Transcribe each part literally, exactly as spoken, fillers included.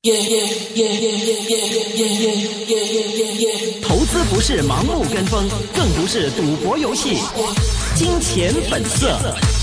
投資不是盲目跟風，更不是賭博遊戲。金錢本色。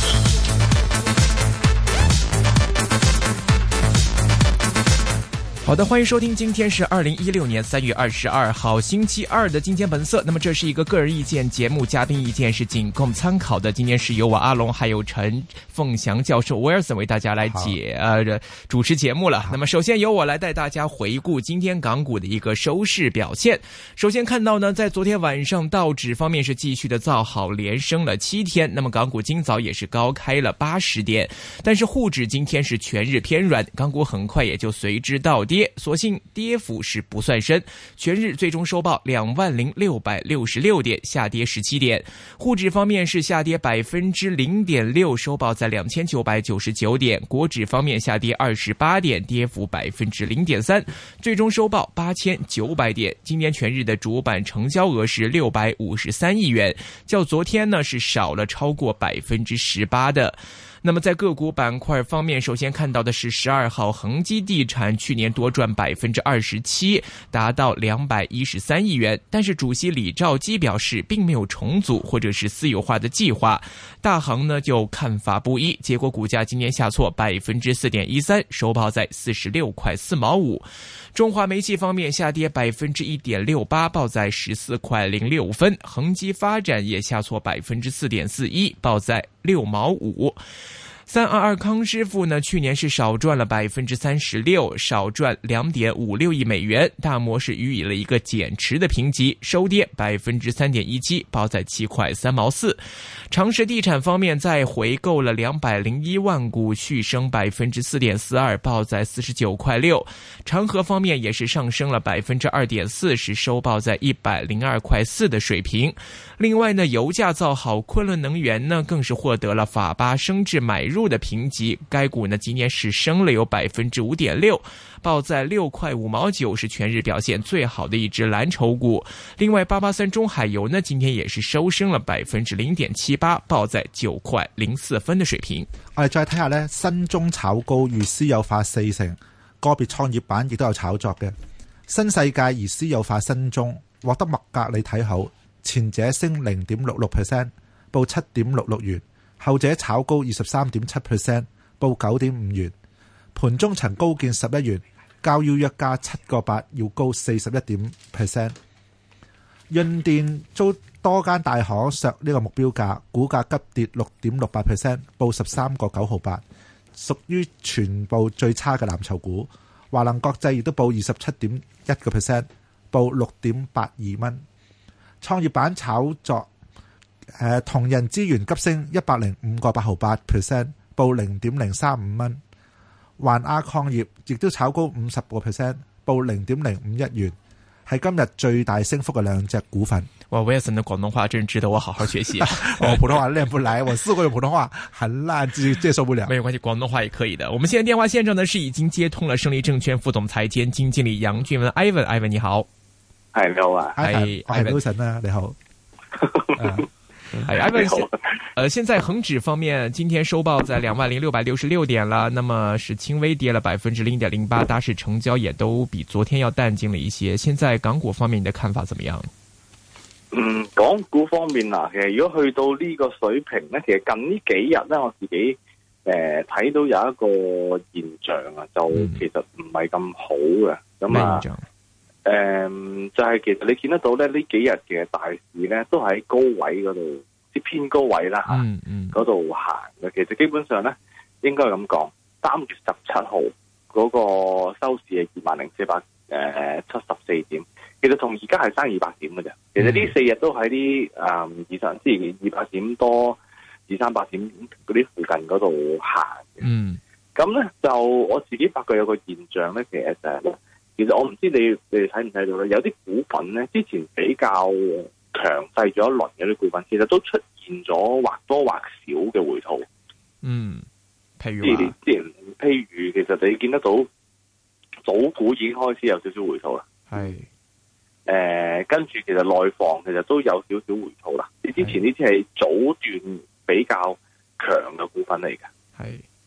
好的，歡迎收聽，今天是二零一六年三月二十二號星期二的金錢本色。那麼這是一個個人意見節目，嘉賓意見是僅供參考的。今天是由我阿龍還有陳鳳祥教授 Wilson 為大家來解呃主持節目了。那麼首先由我來帶大家回顧今天港股的一個收市表現。首先看到呢，在昨天晚上道指方面是繼續的造好，連升了七天。那麼港股今早也是高開了八十點，但是滬指今天是全日偏軟，港股很快也就隨之倒跌。所幸跌幅是不算深，全日最終收報兩萬零六百六十六點，下跌十七點。滬指方面是下跌百分之零點六，收報在兩千九百九十九點。國指方面下跌二十八點，跌幅百分之零點三，最終收報八千九百點。今年全日的主板成交額是六百五十三億元，較昨天呢是少了超過百分之十八的。那麼在個股板塊方面，首先看到的是十二號恒基地產去年多賺百分之二十七，達到兩百一十三億元。但是主席李兆基表示，並沒有重組或者是私有化的計劃。大行呢就看法不一，結果股價今年下挫百分之四點一三，收報在四十六塊四毛五。中華煤氣方面下跌百分之一點六八，報在十四塊零六分。恒基發展也下挫百分之四點四一，報在六毛五。三二二康師傅呢，去年是少賺了百分之三十六，少賺兩點五六億美元。大摩是予以了一個減持的評級，收跌百分之三點一七，報在七塊三毛四。長實地產方面再回購了兩百零一萬股，續升百分之四點四二，報在四十九塊六。長和方面也是上升了百分之二點四，是收報在一百零二塊四的水平。另外呢，油價造好，昆侖能源呢更是獲得了法巴升至買入的評級，該股呢今年是升了有百分之五點六，報在六塊五毛九，是全日表現最好的一支藍籌股。另外八八三中海油呢今天也是收升了百分之零點七八，報在九塊零四分的水平。 我哋再睇下呢，新中炒高遇私有化四成，個別創業板亦都有炒作嘅。新世界而私有化新中獲得麥格理睇好，前者升 零點六六 percent， 報七點六六元，後者炒高 二十三點七 percent， 報九點五元。盤中曾高見十一元，較要約價七個八，要高四十一點 percent。潤電遭多間大行削呢個目標價，股價急跌六點六八 percent， 報十三個九毫八，屬於全部最差嘅藍籌股。華能國際亦都報二十七點一個 percent， 報六點八二蚊。創業板炒作，誒同仁資源急升一百零五個八毫八 percent， 報零點零三五蚊。環亞礦業亦都炒高五十個 percent， 報零點零五一元，係今日最大升幅嘅兩隻股份。 哇 Wilson 的廣東話真值得我好好學習啊！ 我普通話練不來，我試過用普通話很爛，接接受不了。 沒有關係，廣東話也可以的。我們現在電話線上呢是已經接通了勝利證券副總裁兼基金經理楊俊文 Ivan，Ivan 你好。 係你好啊， 係 Ivan 啊，你好。 係 Ivan，呃，現在恒指方面今天收報在兩萬零六百六十六點了，那麼是輕微跌了百分之零點零八，大市成交也都比昨天要淡靜了一些。現在港股方面你的看法怎麼樣？ 嗯，港股方面嗱，其實如果去到呢個水平咧，其實近呢幾日咧，我自己誒睇、呃、到有一個現象啊，就其實唔係咁好嘅。咁、嗯、啊，誒、呃，就係、是、其實你見得到咧，呢幾日嘅大市咧，都喺高位嗰度，即偏高位啦吓，嗰度行嘅。其實基本上咧，應該咁講，三月十七號嗰個收市係二萬零四百誒七十四點。其實同而家係差二百點嘅啫。其實呢四日都喺啲誒以上，即係二百點多、二三百點嗰啲附近嗰度行嘅。嗯，咁咧就我自己發覺有個現象咧，其實就係、是，其實我唔知你你哋睇唔睇到咧，有啲股份咧之前比較強勢咗一輪嘅啲股份，其實都出現咗或多或少嘅回吐。 嗯，譬如話，之前譬如其實你見得到賭股已經開始有少少回吐啦。係。誒、呃，跟住其實內房其實都有少少回吐啦。你之前呢啲係早段比較強嘅股份嚟嘅，係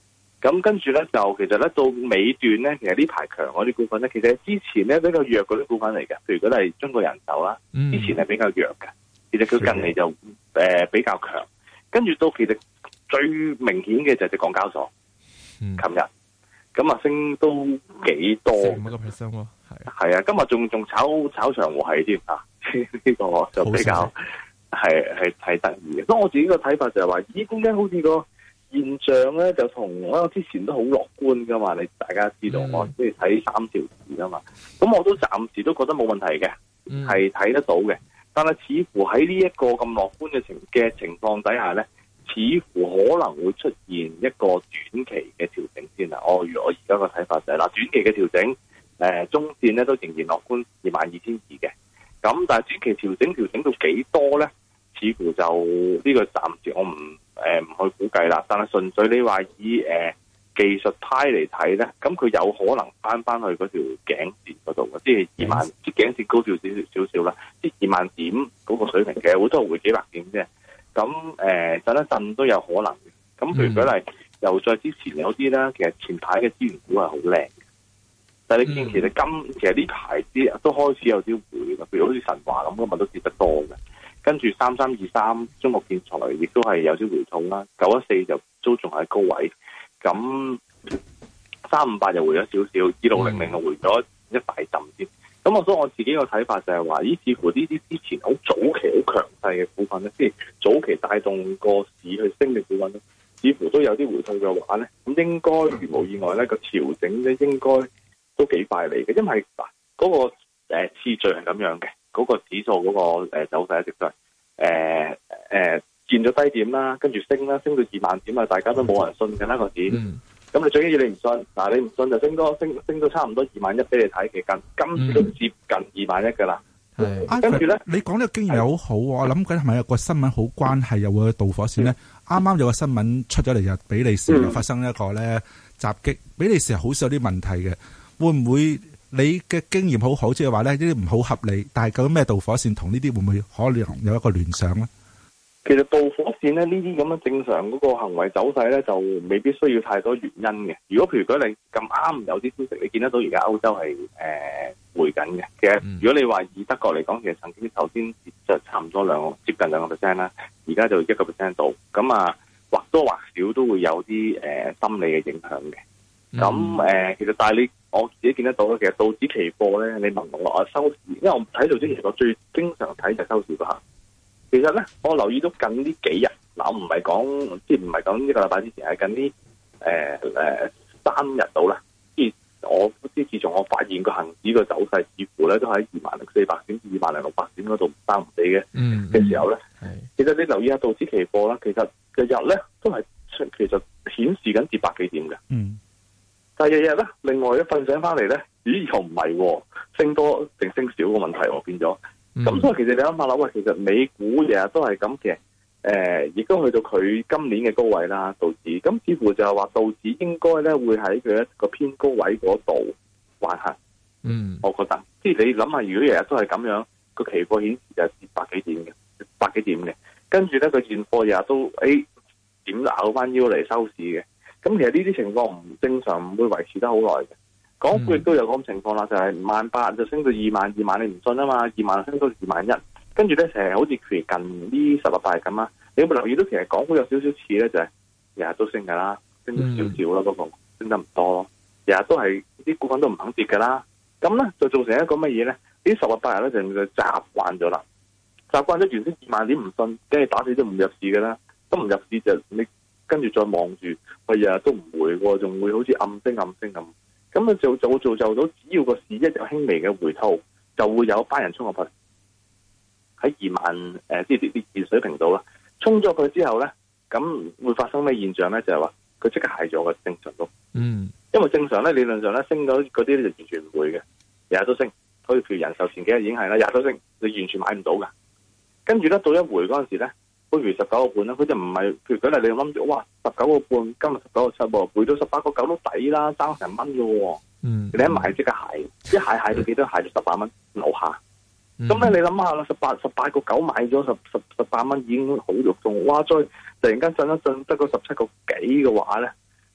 咁跟住咧就其實咧到尾段咧，其實呢排強嗰啲股份咧，其實之前咧比較弱嗰啲股份嚟嘅，譬如嗰啲係中國人壽啦，之前係比較弱嘅，其實佢近嚟就誒、呃、比較強。跟住到其實最明顯嘅就係隻港交所，琴日咁啊升都幾多， 五個 percent 喎，係係啊，今日仲仲炒炒長和係添啊，呢個就比較係係係得意嘅。所以我自己個睇法就係話，咦，點解好似個現象咧就同我之前都好樂觀噶嘛？你大家知道、嗯、我即係睇三條字噶嘛，咁我都暫時都覺得冇問題嘅，係、嗯、睇得到嘅。但係似乎喺呢一個咁樂觀嘅情嘅情況底下咧，似乎可能會出現一個短期嘅調整先啦。哦，如果我而家個睇法就係、是、嗱，短期嘅調整，誒、呃，中線咧都仍然樂觀二萬二千二嘅。咁但係短期調整調整到幾多咧？似乎就呢、這個暫時我唔誒唔去估計啦。但係純粹你話以誒、呃、技術派嚟睇咧，咁佢有可能翻翻去嗰條頸線嗰度嘅，即係二萬，即係頸線高少少少少啦，即係二萬點嗰個水平嘅，好多會幾百點啫。咁誒震一震都有可能嘅。咁譬如舉例，又再之前有啲咧，其實前排嘅資源股係好靚嘅，但係你見其實今其實呢排啲都開始有啲回嘅，譬如好似神華咁，今日都跌得多嘅。跟住三三二三中國建材亦都係有啲回吐啦，九一四就都仲喺高位，咁三五八就回咗少少，二六零零就回咗一大浸先。咁我所以我自己個睇法就係話，咦，似乎呢啲之前好早期好強勢嘅股份咧，即係早期帶動個市去升嘅股份咧，似乎都有啲回吐嘅話咧，咁應該如無意外咧，個調整咧應該都幾快嚟嘅，因為嗱嗰個誒次序係咁樣嘅。嗰、那個指數嗰個誒走勢一直都係誒誒見咗低點啦，跟住升啦，升到二萬點啊，大家都冇人信嘅啦個市。咁、嗯、你最緊要你唔信，嗱你唔信就升多升升到差唔多二萬一俾你睇，其實今次都接近二萬一噶啦。跟住咧， 你講呢個經驗又好好，我諗緊係咪有個新聞好關係，又會導火線咧？啱、嗯、啱有個新聞出咗嚟，就比利時又發生一個咧襲擊，比利時係好少有啲問題嘅，會唔會？你嘅經驗好好，即係話咧呢啲唔好合理，但係究竟咩導火線同呢啲會唔會可能有一個聯想咧？ 其實導火線咧呢啲咁嘅正常嗰個行為走勢咧，就未必需要太多原因嘅。如果譬如果你咁啱有啲消息，你見得到而家歐洲係誒、呃、回緊嘅。其實如果你話以德國嚟講，其實曾經頭先就差唔多兩個接近兩個 percent 啦，而家就一個 percent 度。咁啊或多或少都會有啲誒、呃、心理嘅影響嘅。咁誒、呃，其實但係你我自己見得到咧，其實道指期貨咧，你問我啊收市，因為我睇道指期貨最經常睇就係收市嗰下。其實咧，我留意到近呢幾日，嗱我唔係講，即係唔係講呢個禮拜之前，係近呢誒誒三日到啦。即係我即係自從我發現個恒指個走勢，似乎咧都喺二萬零四百點至二萬零六百點嗰度唔三唔四嘅嘅時候咧，其實你留意下道指期貨啦，其實日日咧都係其實顯示緊跌百幾點嘅。嗯。但係日日咧，另外一瞓醒翻嚟咧，咦又唔係，升多定升少個問題喎，變咗。咁、嗯、所以其實你諗下諗，喂，其實美股日日都係咁嘅，誒、呃，亦都去到佢今年嘅高位啦，道指。咁似乎就係話道指應該咧會喺佢一個偏高位嗰度橫行。嗯，我覺得，即係你諗下，如果日日都係咁樣，個期貨顯示就係跌百幾點嘅，百幾點嘅，跟住咧個現貨日日都誒點咬翻腰嚟收市嘅。咁其實呢啲情況唔正常，唔會維持得好耐嘅。港股亦都有咁情況啦，就係萬八就升到二萬，二萬你唔信啊嘛，二萬升到二萬一，跟住咧成日好似譬如近呢十日八日咁啦。你有冇留意到其實港股有少少似咧，就係日日都升噶啦，升少少啦，嗰個升得唔多咯。日日都係啲股份都唔肯跌噶啦，咁咧就造成一個乜嘢咧？呢十日八日咧就就習慣咗啦，習慣咗原先二萬點唔信，跟住打死都唔入市噶啦，都唔入市就你。跟住再望住，我日日都唔會喎，仲會好似暗升暗升咁。咁啊就就會造就到，只要個市一有輕微嘅回吐，就會有班人衝入去喺二萬誒，即係啲啲水平度啦。衝咗佢之後咧，咁會發生咩現象咧？就係話佢即刻蟹咗個正常度。嗯，因為正常咧理論上咧升到嗰啲咧就完全唔會嘅，日日都升。好似譬如人壽前幾日已經係啦，日日都升，你完全買唔到噶。跟住咧到一回嗰陣時咧。譬如十九個半啦，佢就唔係，譬如舉例你諗住，哇，十九個半，今日十九個七喎，回到十八個九都抵啦，爭成蚊嘅喎。嗯，你一買即刻蟹，一蟹蟹到幾多？蟹到十八蚊樓下。咁、嗯、咧，你諗下啦，十八十八個九買咗十十十八蚊已經好肉痛，哇！再突然間震一震得個十七個幾嘅話咧，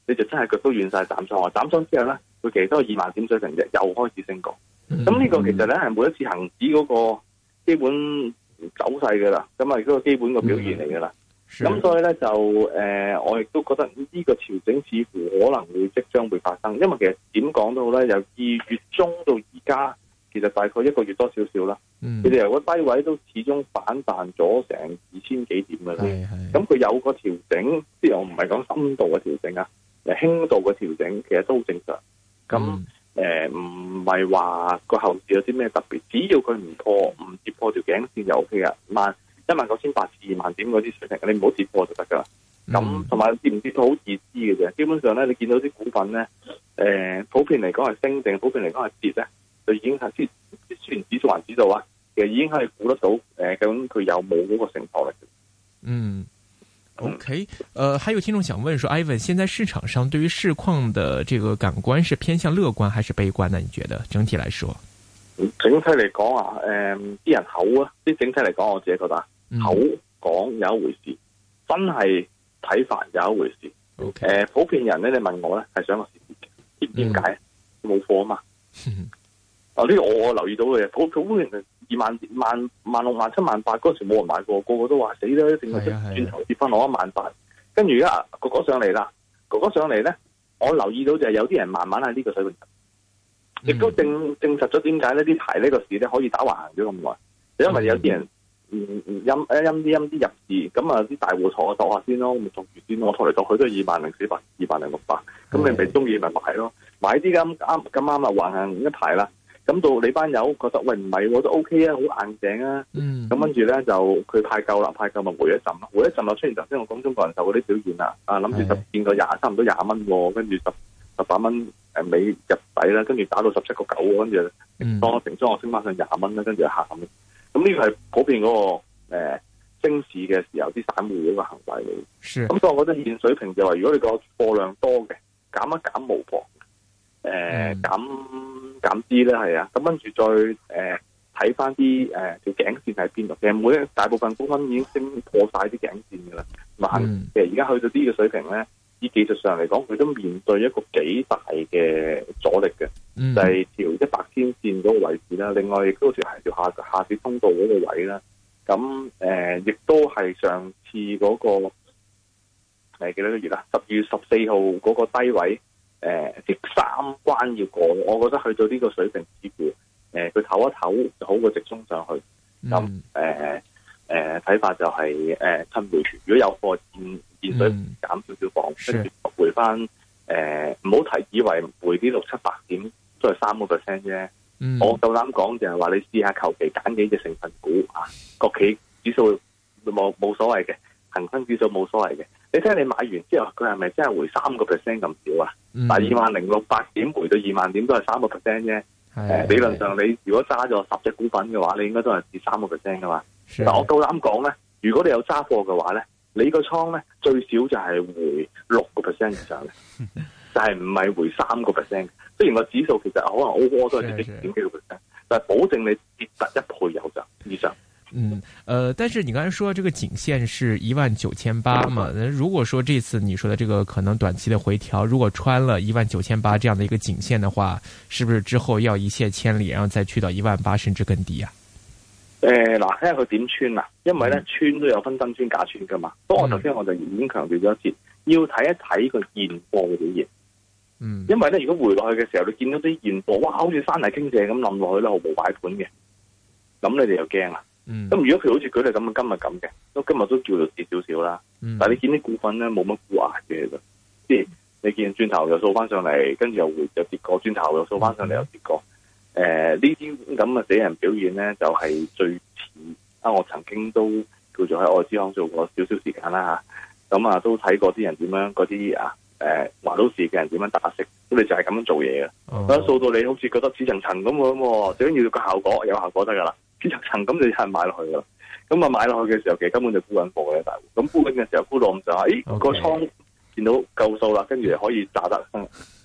你就真係腳都軟晒斬倉。斬倉之後咧，佢其實都係二萬點水平啫，又開始升過。咁呢、嗯、個其實咧係每一次恒指嗰個基本走勢噶啦，咁啊嗰個基本個表現嚟噶啦。咁、嗯、所以咧就誒、呃，我亦都覺得呢個調整似乎可能會即將會發生，因為其實點講都好咧，由二月中到而家，其實大概一個月多少少啦。佢哋、嗯、由個低位都始終反彈咗成二千幾點噶啦。咁佢有個調整，即係我唔係講深度嘅調整啊，誒輕度嘅調整，其實都好正常。咁誒唔係話個後市有啲咩特別，只要佢唔破唔跌破條頸線就 O K 噶，萬一萬九千八至二萬點嗰啲水平，你唔好跌破就得噶啦。咁同埋跌唔跌都好自知嘅啫。基本上咧，你見到啲股份咧，誒、呃、普遍嚟講係升定，普遍嚟講係跌咧，就已經係雖雖然指數還指數啊，其實已經係估得到誒、呃、究竟佢有冇嗰個承托力。 嗯。OK，呃，還有聽眾想問說 ，Ivan，現在市場上對於市況的這個感官是偏向樂觀還是悲觀呢？你覺得整體來說？ 整體嚟講啊，誒、呃，啲人口啊，即係整體嚟講，我自己覺得口講有一回事，真係睇法有一回事。OK，誒、呃，普遍人咧，你問我咧，係想個市跌嘅，點點解？冇貨啊嘛。啊，呢個我我留意到嘅，普普遍人。二萬萬萬六萬七萬八嗰時冇人買過，個個都話死啦，一定係轉頭跌翻落一萬八。跟住而家個個上嚟啦，個個上嚟咧，我留意到就係有啲人慢慢喺呢個水平，亦、嗯、都證證實咗點解呢啲排呢個市咧可以打橫行咗咁耐，因為有啲人嗯陰一陰啲陰啲入市，咁啊啲大戶坐下坐下先咯，咪坐住先咯，我拖嚟拖去都係二萬零四百、二萬零六百，咁你咪中意咪買咯，買啲咁啱咁啱啊橫行一排啦。咁到你班友覺得喂唔係我都 OK 啊，好硬淨啊，咁跟住咧就佢派夠啦，派夠咪回一陣咯，回一陣就出現頭先我講中國人壽嗰啲表現啦，啊諗住十見過廿差唔多廿蚊，跟住十十八蚊誒尾入底啦，跟住打到十七個九，跟住當成裝我升翻上廿蚊啦，跟住就行咁。咁呢個係普遍嗰、那個誒、呃、升市嘅時候啲散戶嗰個行為嚟。咁是所以我覺得現水平就話，如果你個貨量多嘅減一減無妨，誒、呃嗯、減。減啲咧係啊，咁跟住再誒睇翻啲誒條頸線喺邊度？其實每一大部分股份已經升破晒啲頸線噶啦，萬、嗯、其實而家去到呢個水平咧，以技術上嚟講，佢都面對一個幾大嘅阻力嘅，嗯、就係條一百天線嗰個位置啦。另外亦都條係條下下跌通道嗰個位啦。咁誒亦都係上次嗰、那個誒幾多個月啦？十二月十四號嗰個低位。誒，即、呃、三關要過，我覺得去到呢個水平，似乎誒佢唞一唞就好過直衝上去。咁誒誒睇法就係、是、誒、呃、趁回傳，如果有貨現現水減少少磅，跟住回翻誒唔好提以為回啲六七百點都係三個 percent 啫。嗯、我夠膽講就係話你試下求其揀幾隻成分股啊，國企指數冇冇所謂嘅，恒生指數冇所謂嘅。你睇下你買完之後，佢係咪真係回三個 percent 咁少啊？嗯、但係二萬零六百點回到二萬點都係三個 percent 啫。誒的，理論上你如果揸咗十隻股份嘅話，你應該都係跌三個 percent 噶嘛。的但我夠膽講咧，如果你有揸貨嘅話咧，你個倉咧最少就係回六個 percent 以上嘅，就係唔係回三個 percent。雖然個指數其實可能 overall 都係跌點幾個 percent，的但係保證你跌得一倍有就以上。 嗯，呃，但是你剛才說這個頸線是一萬九千八嘛？那如果說這次你說的這個可能短期的回調，如果穿了一萬九千八這樣的一個頸線的話，是不是之後要一瀉千里，然後再去到一萬八甚至更低啊？ 誒、呃，嗱，睇下佢點穿啊？因為咧、嗯、穿都有分真穿假穿噶嘛。不過我頭先我就已經強調咗一次，要睇一睇個現貨嘅表現。嗯，因為咧如果回落去嘅時候，你見到啲現貨，哇，好似山泥傾瀉咁冧落去咧，毫無擺盤嘅，咁你哋又驚啦。咁、嗯、如果佢好似舉例咁，今日咁嘅，都今日都叫做跌少少啦。嗯、但係你見啲股份咧冇乜沽壓嘅，即係你見轉頭又掃翻上嚟，跟住又回又跌過，轉頭又掃翻上嚟又跌過。誒呢啲咁嘅死人表現咧，就係、是、最似啊！我曾經都叫做喺外資行做過少少時間啦嚇，咁啊都睇過啲人點樣嗰啲啊誒華都市嘅人點樣打息，咁你就係咁樣做嘢嘅。咁、哦、掃到你好似覺得似層層咁喎，最緊要個效果有效果得㗎啦。似層層咁你係買落去㗎啦。咁啊買落去嘅時候，其實根本就沽緊貨嘅大戶。咁沽緊嘅時候沽到咁就係，誒個倉見到夠數啦，跟住可以炸得。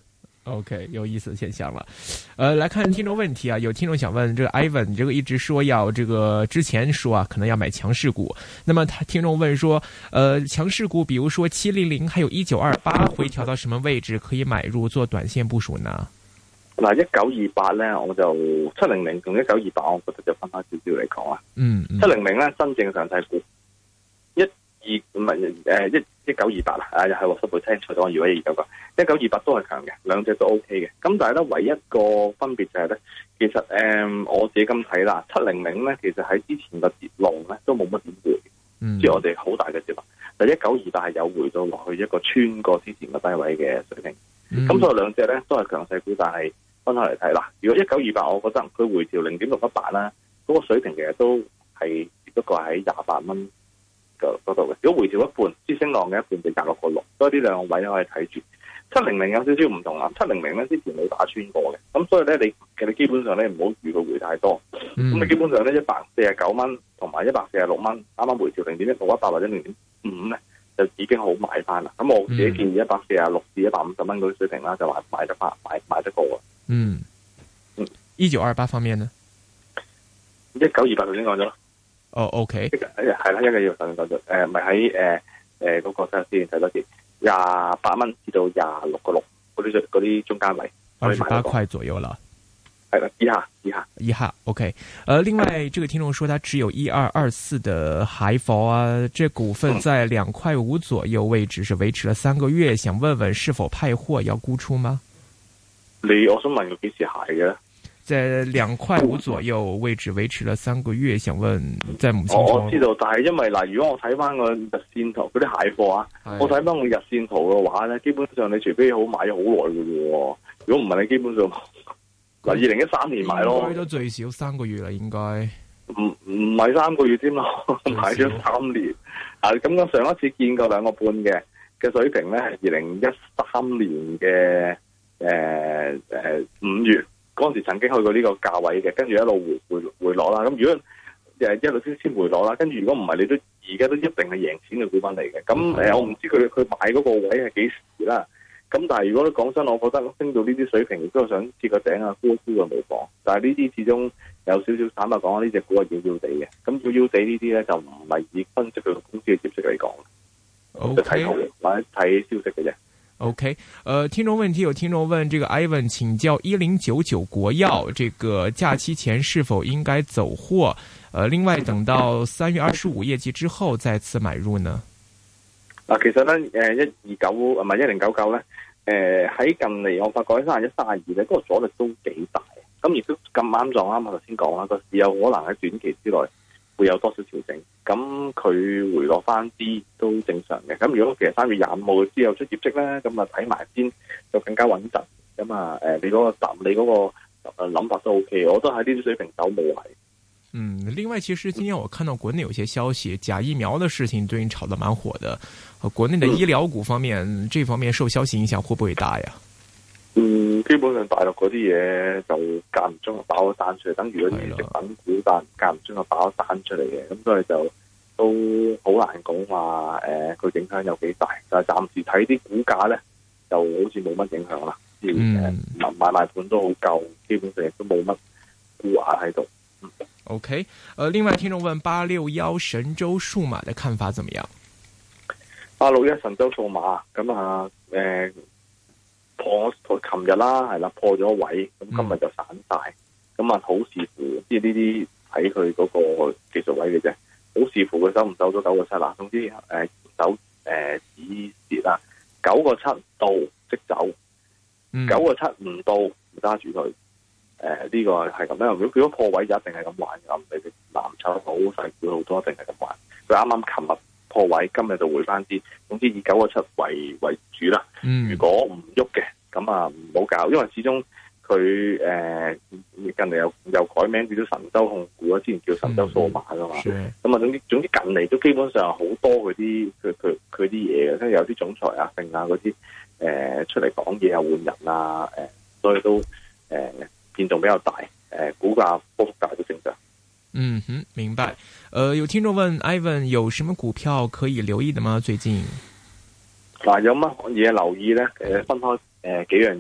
OK， 有意思的現象了。呃，來看聽眾問題啊，有聽眾想問，這個 Ivan，你這個一直說要這個之前說啊，可能要買強勢股。那麼他聽眾問說，呃，強勢股，比如說七零零，還有一九二八，會調到什麼位置可以買入做短線部署呢？ 嗱，一九二八咧，我就七零零同一九二八，我覺得就分開少少嚟講啊。嗯，七零零咧，真正強勢股，一二唔係誒一。一九二八啦，啊又係我十倍聽錯咗，我以為二九八，一九二八都係強嘅，兩隻都 O K 嘅。咁但係咧，唯一個分別就係咧，其實誒、嗯、我自己咁睇啦，七零零咧，其實喺之前嘅跌浪咧都冇乜點回，即係、嗯、我哋好大嘅跌浪。但係一九二八係有回到落去一個穿過之前嘅低位嘅水平。咁、嗯、所以兩隻咧都係強勢股，但係分開嚟睇啦。如果一九二八，我覺得佢回調零點六一八啦，嗰個水平其實都係只不過喺廿八蚊。嗰度嘅，如果回調一半，支升浪嘅一半就廿六個六，所以呢兩個位可以睇住。七零零有少少唔同啦，七零零咧之前冇打穿過嘅，咁所以咧你其實基本上咧唔好預佢回太多，咁你、嗯、基本上咧一百四十九蚊同埋一百四十六蚊，啱啱回調零點一六一八或者零點五咧，就已經好買翻啦。咁我自己建議一百四十六至一百五十蚊嗰啲水平啦，就話買得翻，買買得過啊。嗯嗯，一九二八方面呢？ 一九二八頭先講咗咯。 哦、oh，OK， 係啦，一個月上咗，誒，咪喺誒誒嗰個睇先睇多啲，廿八蚊至到廿六個六嗰啲嗰啲中間位， 二十八塊左右啦， 係啦，以下以下以下 OK， 呃，另外，這個聽眾說他只有一二二四的海否啊，這股份在兩塊五左右位置是維持了三個月，想問問是否派貨要沽出嗎？ 你我想問佢幾時蟹嘅？ 在兩塊五左右位置維持了三個月，想問在母親、 哦、我知道，但係因為嗱，如果我睇翻個日線圖嗰啲蟹貨啊，的我睇翻個日線圖嘅話咧，基本上你除非好買咗好耐嘅喎，如果唔係你基本上嗱二零一三年買咯，應該都最少三個月啦，應該唔唔係三個月添咯，買咗三年啊！咁我上一次見過兩個半嘅嘅水平咧，係二零一三年嘅誒誒五月。嗰陣時曾經去過呢個價位嘅，跟住一路回回回落啦。咁如果誒一路先先回落啦，跟住如果唔係，你都而家都一定係贏錢嘅股份嚟嘅。咁誒、呃，我唔知佢佢買嗰個位係幾時啦。咁但係如果你講真，我覺得升到呢啲水平，亦都想接個頂啊，沽一沽就冇妨。但係呢啲始終有少少坦白講，呢隻股係要要地嘅。咁要要地呢啲咧，就唔係以分析佢公司嘅業績嚟講，就睇圖或者睇消息嘅啫。 OK，呃，聽眾問題有聽眾問，這個 Ivan 請教一零九九國藥，這個假期前是否應該走貨？呃，另外等到三月二十五業績之後再次買入呢？ 嗱，其實咧，誒，一二九唔係一零九九咧，誒、呃，喺近嚟我發覺喺三十一、三十二咧，嗰個阻力都幾大，咁亦都咁啱撞啱我頭先講啦，個市有可能喺短期之內會有多少調整，咁佢回落翻啲都正常嘅。咁如果其實三月廿五號之後出業績咧，咁啊睇埋先就更加穩陣。咁啊，誒，你嗰個答，你嗰個誒諗法都 OK，我都喺呢啲水平走冇係。 嗯，另外，其實今天我看到國內有些消息，假疫苗的事情最近炒得蠻火的。國內的醫療股方面，嗯、這方面受消息影響會不會大呀？ 嗯，基本上大陸嗰啲嘢就間唔中就爆咗彈出嚟，等於嗰啲食品股，但間唔中就爆咗彈出嚟嘅，咁所以就都好難講話誒，佢、呃、影響有幾大。但係暫時睇啲股價咧，就好似冇乜影響啦。嗯，買買賣盤都好夠，基本上亦都冇乜沽壓喺度。嗯、 OK，呃，另外聽眾問八六一神州數碼的看法怎麼樣？ 八六一神州數碼咁啊，誒。呃破破琴日啦，係啦，破咗位，咁今日就散晒，咁啊、嗯、好視乎，即係呢啲睇佢嗰個技術位嘅啫，好視乎佢收唔收到九個七啦。總之誒走誒止蝕啦，九個七到即走，九個七唔到唔揸住佢。誒、呃、呢、這個係咁樣，如果如果破位就一定係咁玩嘅，你哋藍籌好細股好多一定係咁玩。佢啱啱琴日破位，今日就回翻啲。總之以九個七為為主啦。嗯、如果唔喐嘅，咁啊唔好搞，因為始終佢誒、呃、近嚟又又改名叫做神州控股啊，之前叫神州數碼噶嘛。咁啊、嗯，總之總之近嚟都基本上好多嗰啲佢佢佢啲嘢嘅，即係有啲總裁啊、剩啊嗰啲誒出嚟講嘢啊、換人啊，誒、呃，所以都誒、呃、變動比較大，誒、呃、股價波幅大都正常。 嗯哼，明白。呃，有聽眾問 Ivan 有什麼股票可以留意的嗎？最近？ 嗱、啊，有乜嘢留意咧？誒，分開誒、呃、幾樣嘢。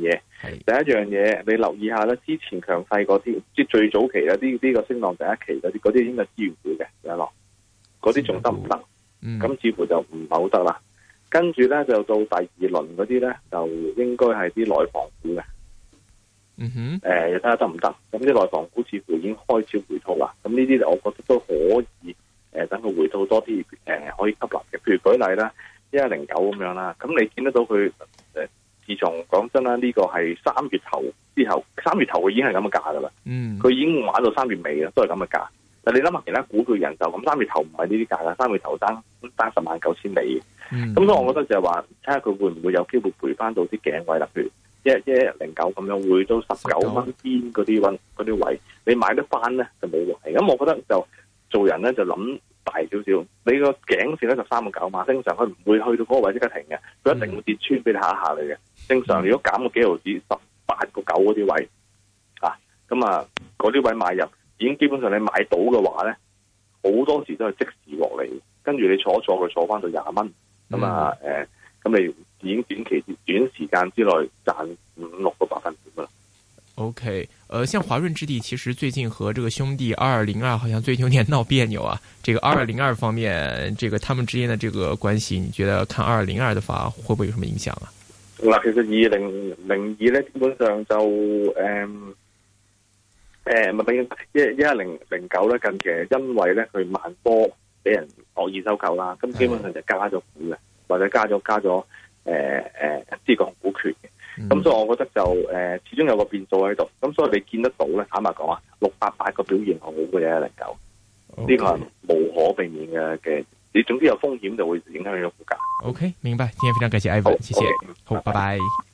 第一樣嘢你留意下咧，之前強勢嗰啲，即係最早期咧，呢、這、呢個升浪第一期嗰啲，嗰啲應該係資源股嘅，有落，嗰啲仲得唔得？咁、嗯、似乎就唔係好得啦。跟住咧就到第二輪嗰啲咧，就應該係啲內房股嘅。 嗯哼， 誒，又睇下得唔得？咁啲內房股似乎已經開始回吐啦。咁呢啲我覺得都可以，誒，等佢回吐多啲，誒、呃，可以吸納嘅。譬如舉例啦，一一零九咁樣啦。咁你見得到佢，誒、呃，自從講真啦，呢、這個係三月頭之後，三月頭佢已經係咁嘅價噶啦。嗯，佢已經玩到三月尾啦，都係咁嘅價。但你諗下其他股票人就咁，三月頭唔係呢啲價啦，三月頭單單十萬九千里。咁、嗯、所以我覺得就係話，睇下佢會唔會有機會賠翻到啲頸位啦，譬如。一一零九咁樣回到十九蚊邊嗰啲位，嗰啲位你買得翻咧就冇位。咁我覺得就做人咧就諗大少少。你個頸線咧就三個九碼，正常佢唔會去到嗰個位即刻停嘅，佢一定會跌穿俾你下一下嚟嘅。正常如果減個幾毫子，十八個九嗰啲位啊，咁啊嗰啲位買入已經基本上你買到嘅話咧，好多時都係即時落嚟，跟住你坐一坐佢坐翻到廿蚊，咁啊誒，咁你。已經短期短時間之內賺五六個百分點啦。 OK，呃，像華潤置地其實最近和這個兄弟二二零二好像最近有點鬧別扭啊。這個二二零二方面，這個他們之間的這個關係，你覺得看二二零二的話，會不會有什麼影響啊？ 嗱，其實二零零二咧，基本上就誒誒，咪俾一一一零零九咧，近期因為咧佢萬科俾人惡意收購啦，咁基本上就加咗股嘅，或者加咗加咗。誒誒，呢個股權嘅，咁、嗯、所以我覺得就誒、呃，始終有個變數喺度，咁所以你見得到咧，坦白講啊，六八八個表現好嘅一零九，呢個係無可避免嘅嘅，你總之有風險就會影響你個股價。 OK，明白，今天非常感謝 Ivan，謝謝，okay, 好，拜拜。拜拜。